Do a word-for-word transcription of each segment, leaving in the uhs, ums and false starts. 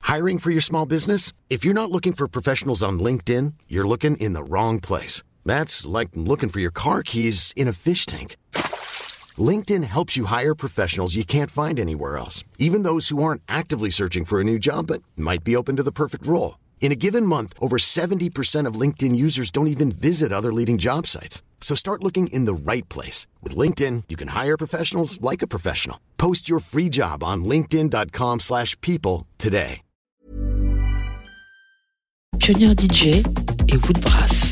Hiring for your small business? If you're not looking for professionals on LinkedIn, you're looking in the wrong place. That's like looking for your car keys in a fish tank. LinkedIn helps you hire professionals you can't find anywhere else, even those who aren't actively searching for a new job but might be open to the perfect role. In a given month, over seventy percent of LinkedIn users don't even visit other leading job sites. So start looking in the right place. With LinkedIn, you can hire professionals like a professional. Post your free job on linkedin.com slash people today. Pionnier D J et Woodbrass.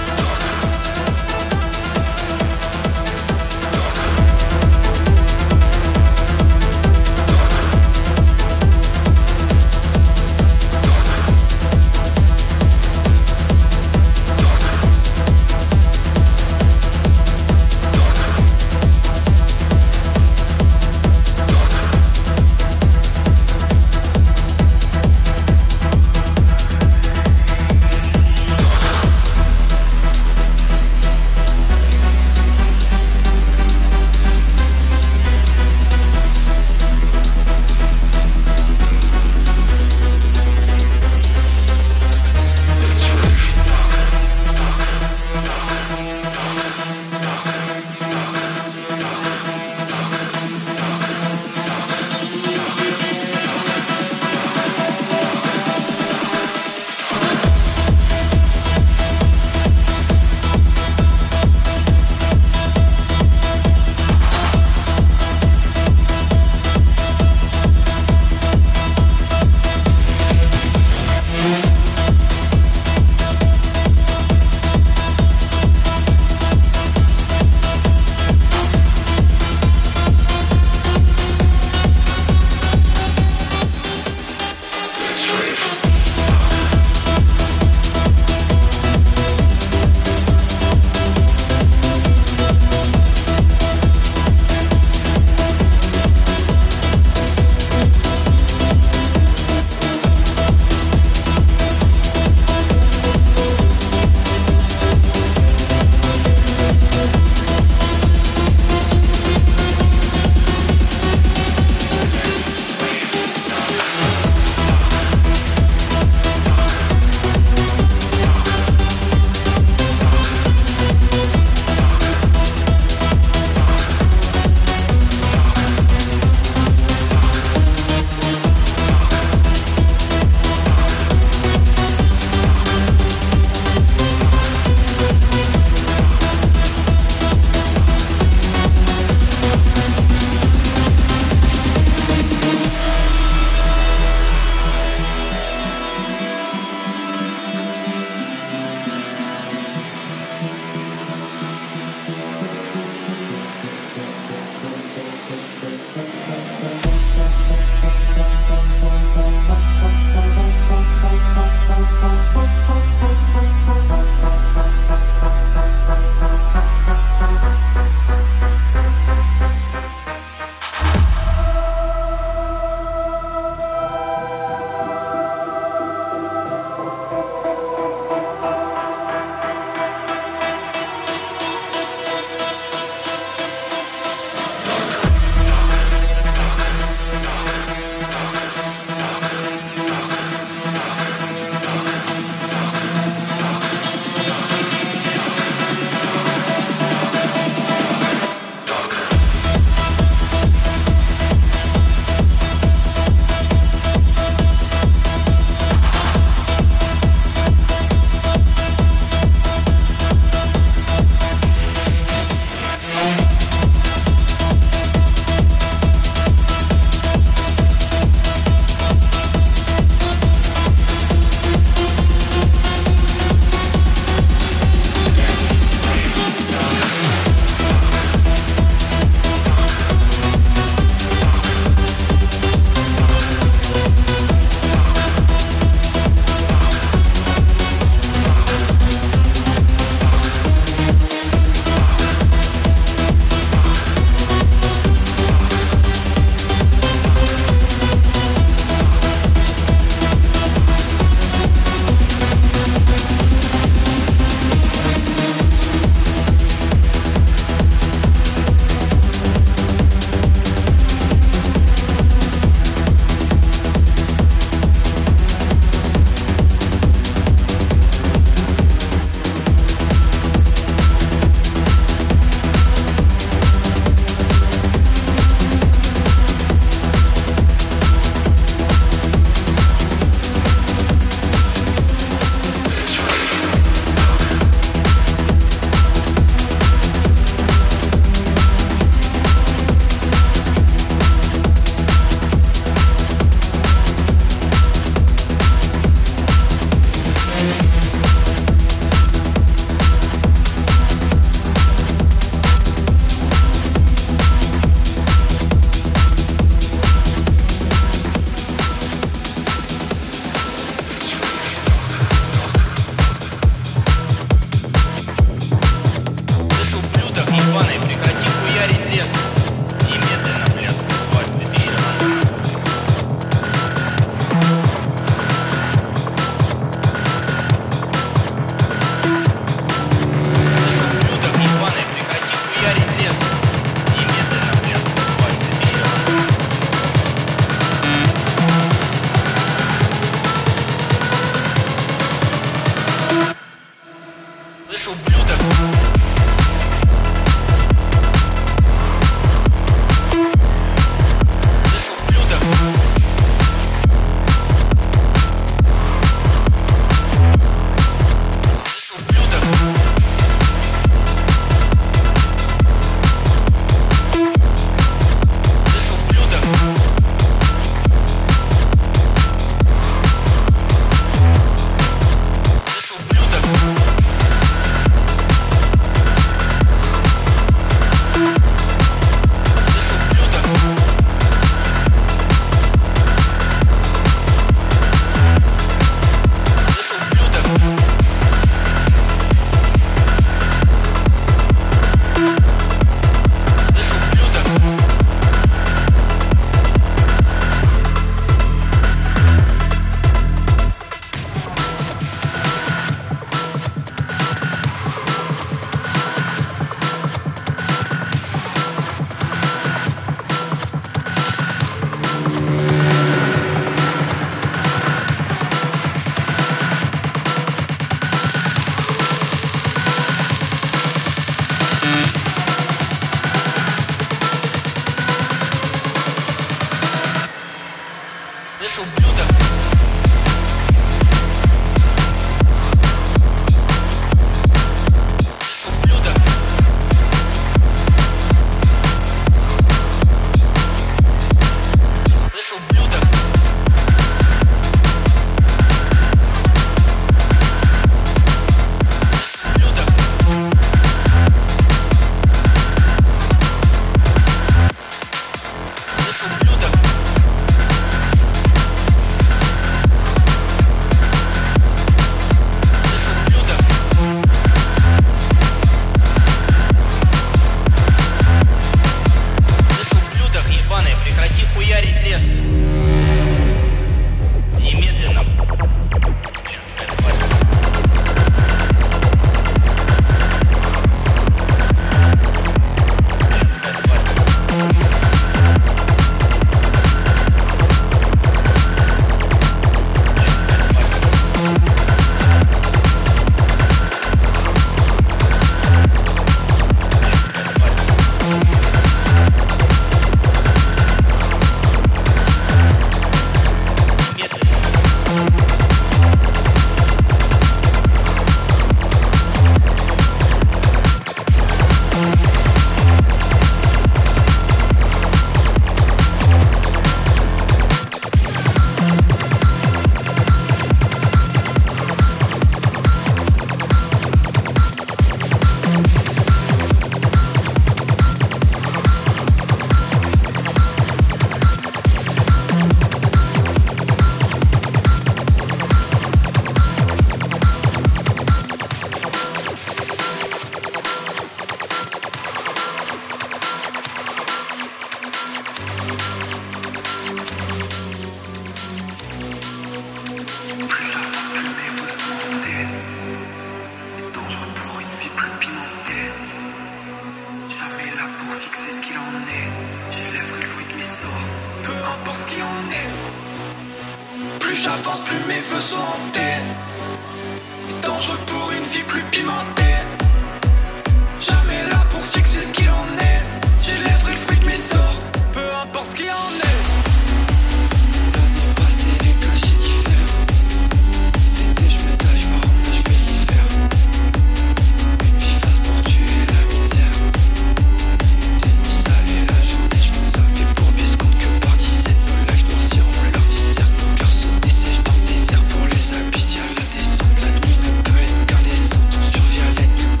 importe ce qui en est. Plus j'avance, plus mes vœux sont hantés. Et dangereux pour une vie plus pimentée. Jamais là pour fixer ce qu'il en est. J'élèverai le fruit de mes sorts, peu importe ce qu'il en est. L'année passée, les cachets diffèrent. L'été, je me taille, je me rends, je paye l'hiver. Une vie face pour tuer la misère. Des nuits sales et la journée, je m'isole. Les bourbiers se comptent que par dizaines. Nos lives noirciront leur disserte. Mon cœur se dessèche dans le désert. Pour les abysses, y'a la descente. La nuit ne peut être qu'indécente. On survit à l'aide.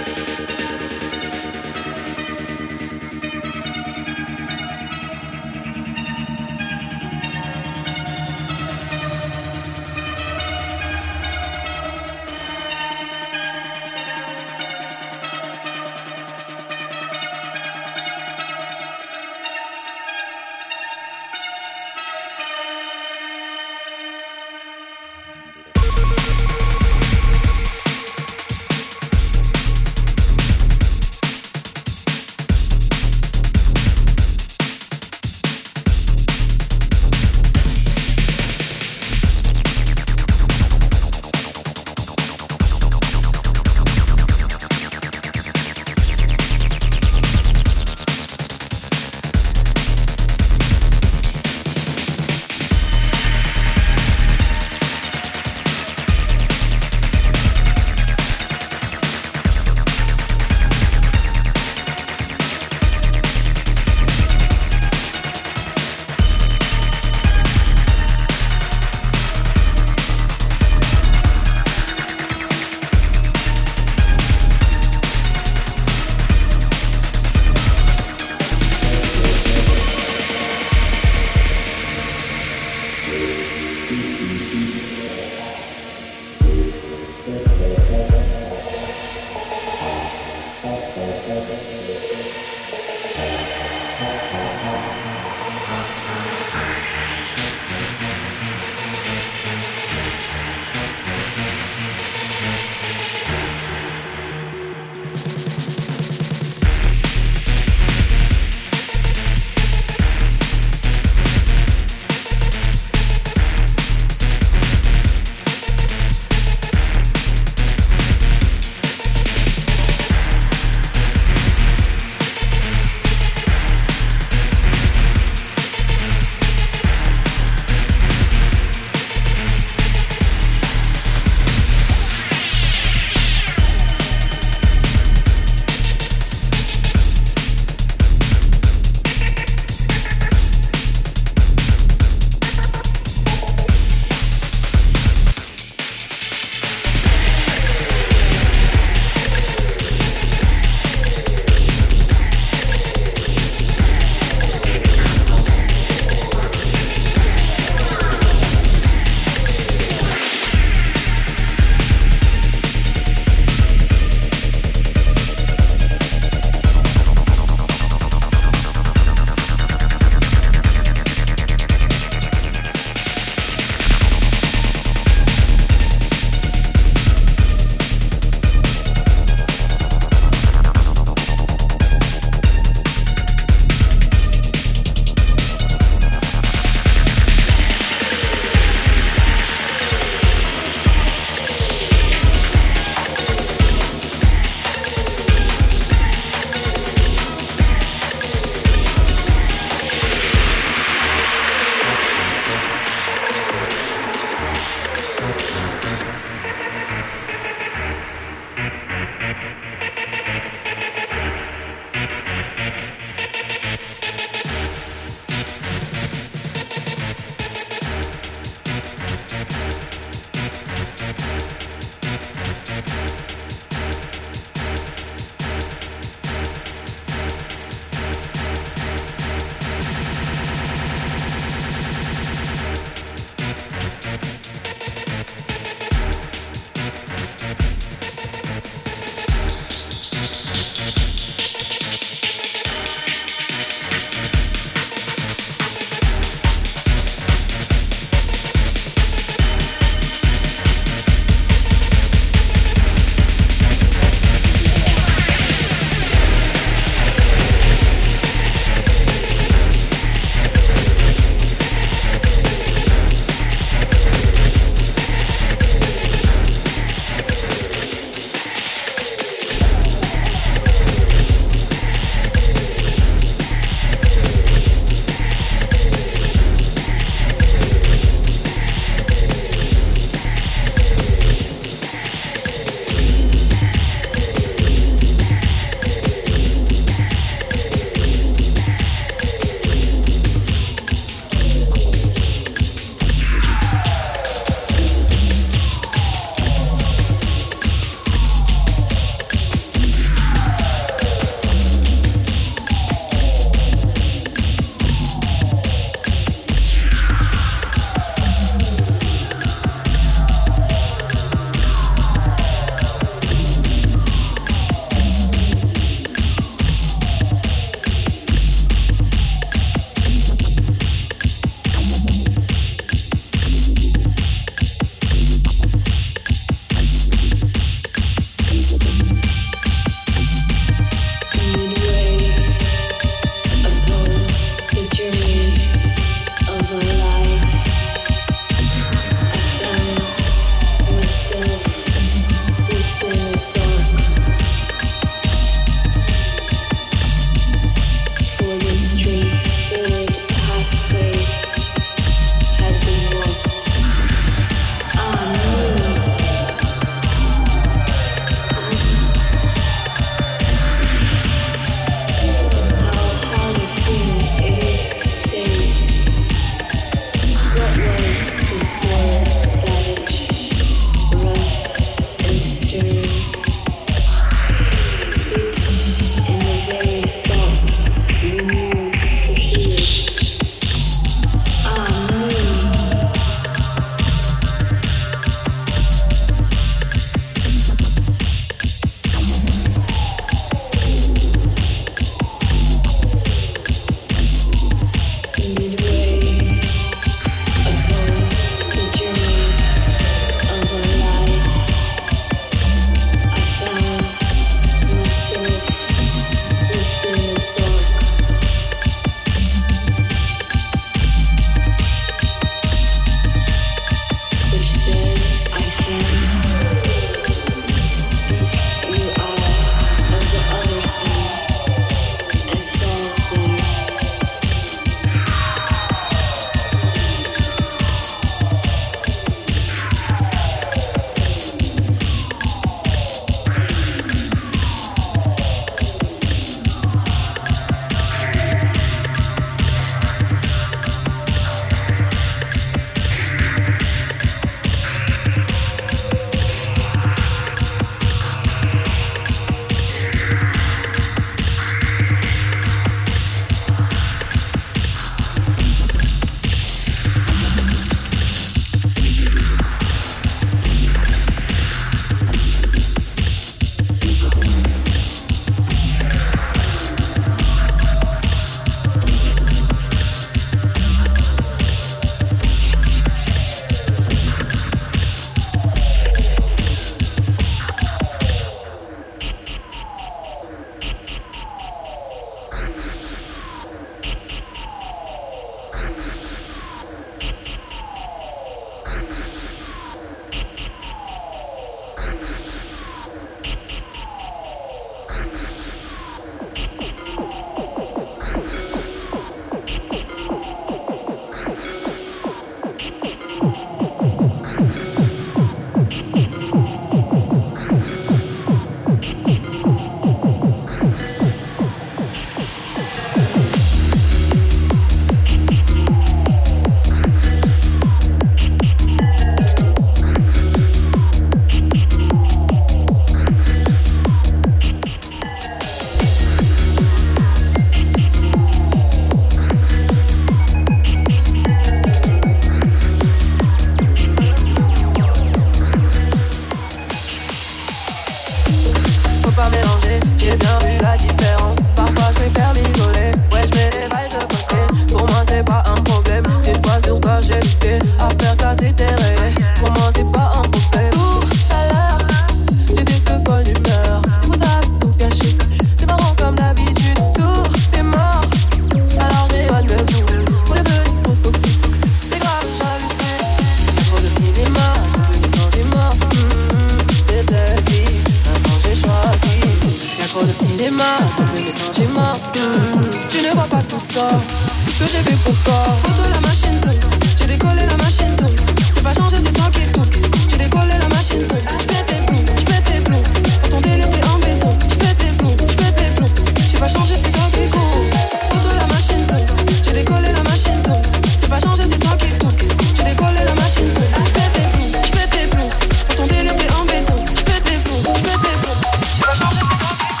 ça. Tout ce que j'ai fait pour toi. Pour toi la machine tourne. J'ai décollé la machine tourne. J'ai pas changé, c'est toi qui tourne. J'ai décollé la machine tourne. J'pète tes plombs, j'pète tes plombs. Quand ton délire t'es en béton. J'pète tes plombs, j'pète tes plombs. J'ai pas changé, c'est toi qui court. Pour toi la machine tourne. J'ai décollé la machine tourne. J'ai pas changé, c'est toi qui tourne. J'ai décollé la machine tourne. J'pète tes plombs, j'pète tes plombs. Quand ton délire t'es en béton. J'pète tes plombs, j'pète tes plombs. J'ai pas changé, c'est toi qui court.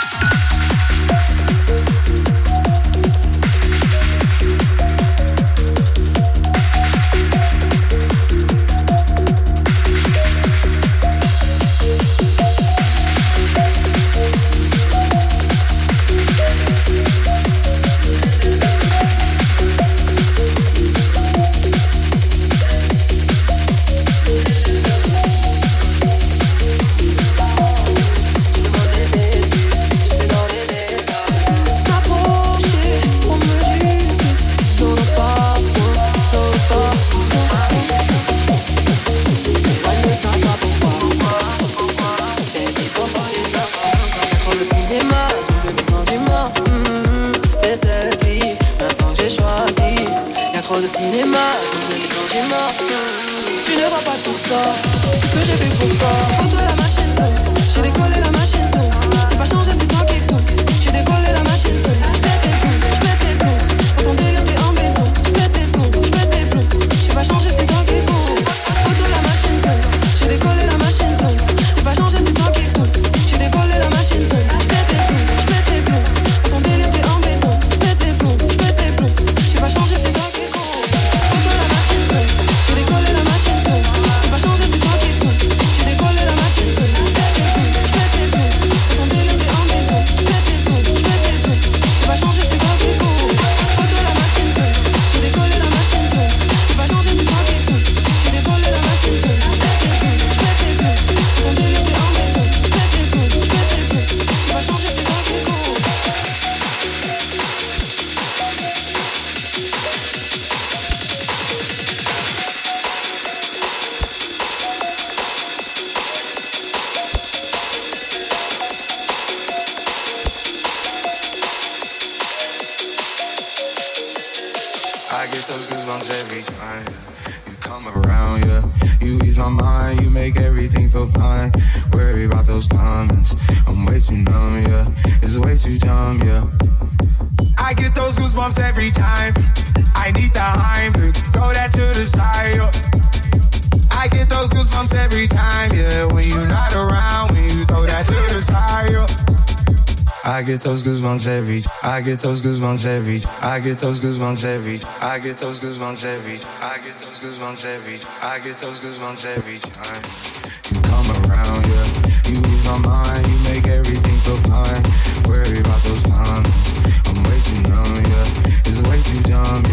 I get those goosebumps every I get those goosebumps every I get those goosebumps every I get those goosebumps every I get those goosebumps every I get those goosebumps every time you come around, yeah. You ease my mind, you make everything feel fine. Worry about those comments, I'm way too numb, yeah. It's way too dumb,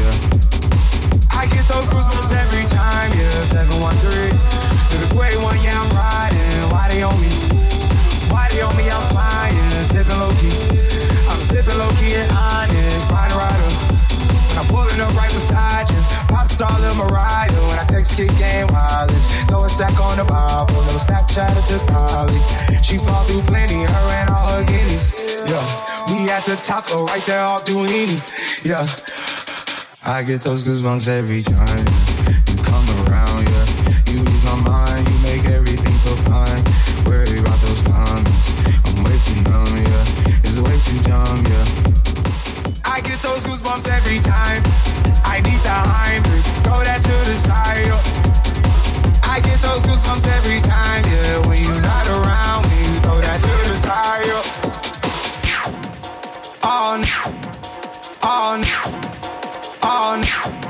yeah. I get those goosebumps every time, yeah. seven one three to the twenty-one, yeah, I'm riding. Why they on me? Why they on me? I'm flying, sipping low key. I'm sipping low key and honest, rider rider. When I'm pulling up right beside you, pop star Lil Mariah. When I text kick game wireless, throw a stack on the Bible, little Snapchat or just Polly. She fall through plenty, her and all her guineas. Yeah, we at the top, oh, right there, all Duini. Yeah, I get those goosebumps every time you come around. Yeah, you ease my mind, you make everything feel fine. Worry about those comments, I'm way too numb, yeah. It's way too dumb, yeah. I get those goosebumps every time I need the Heimlich, throw that to the side, yeah. I get those goosebumps every time, yeah. When you're not around, when you throw that to the side, yeah. On, on, on.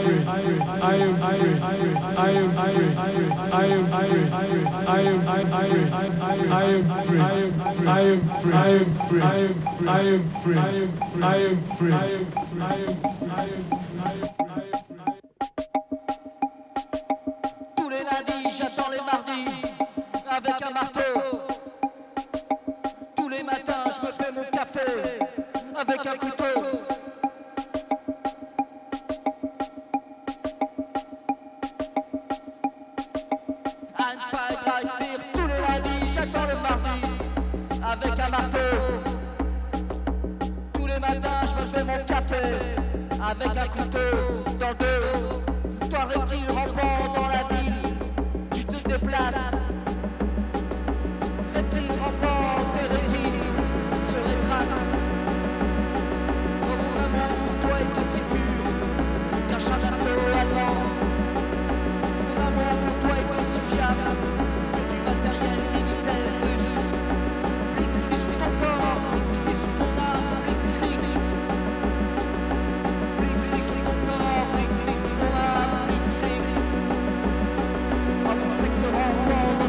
Tous les lundis, j'attends les mardis avec un marteau. Tous les matins, je me fais mon café avec un couteau. Tous les lundis, j'attends le mardi avec un marteau. Tous les matins, je me fais mon café avec un couteau dans le dos. Toi, reptile rampant dans la ville, tu te déplaces. Reptile rampant, tes rétines se rétractent. Oh, mon amour pour toi est aussi pur qu'un chat d'assaut allemand. Mon amour pour toi est aussi fiable que du matériel militaire russe. Blitzkrieg sous ton corps, Blitzkrieg sous ton âme, Blitzkrieg. Blitzkrieg sous ton corps, Blitzkrieg sous ton âme, Blitzkrieg. Oh, mon sexe rampant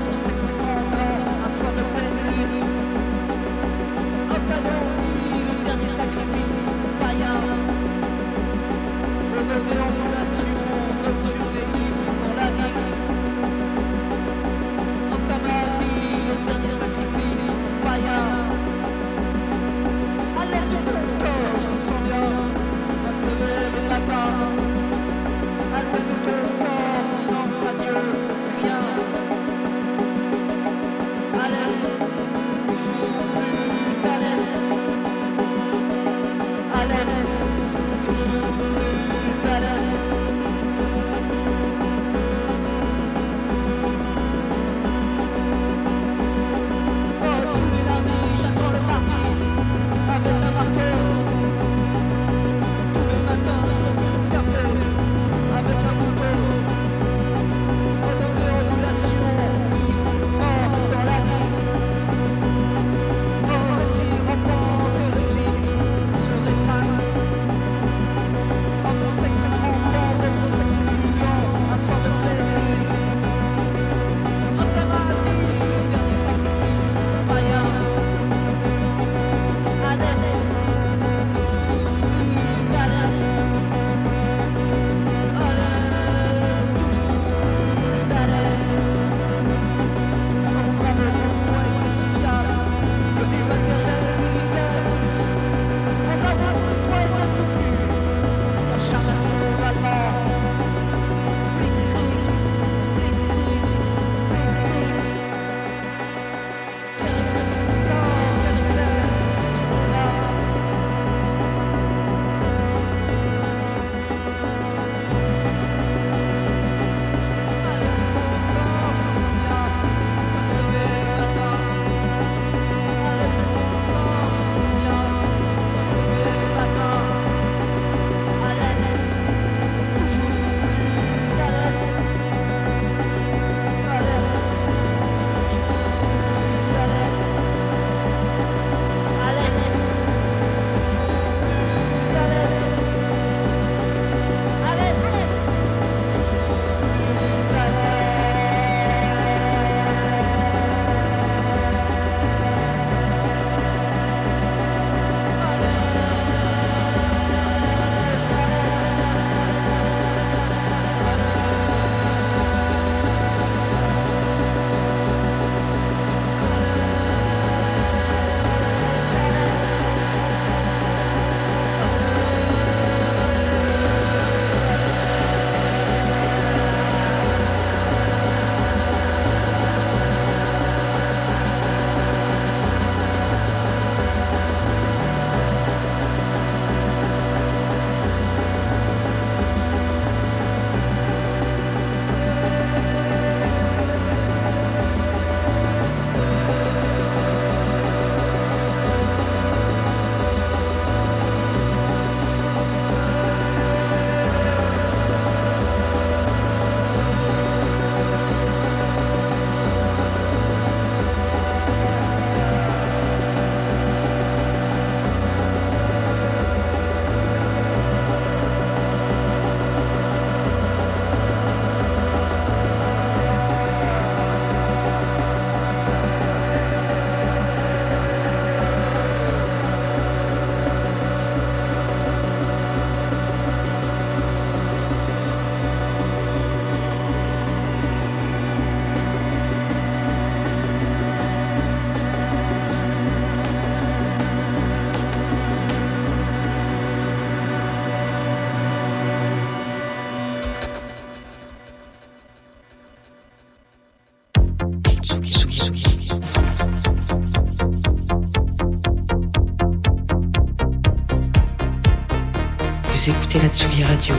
Vous écoutez la Tsugi Radio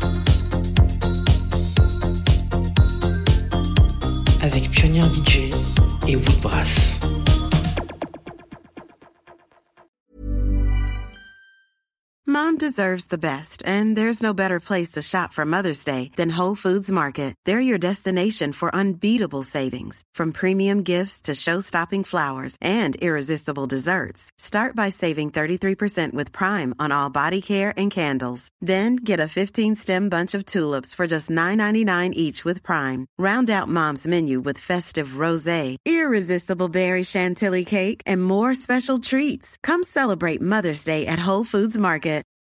avec Pionnier D J et Woodbrass. Mom deserves the best, and there's no better place to shop for Mother's Day than Whole Foods Market. They're your destination for unbeatable savings, from premium gifts to show-stopping flowers and irresistible desserts. Start by saving thirty-three percent with Prime on all body care and candles. Then get a fifteen-stem bunch of tulips for just nine ninety-nine each with Prime. Round out Mom's menu with festive rosé, irresistible berry chantilly cake, and more special treats. Come celebrate Mother's Day at Whole Foods Market.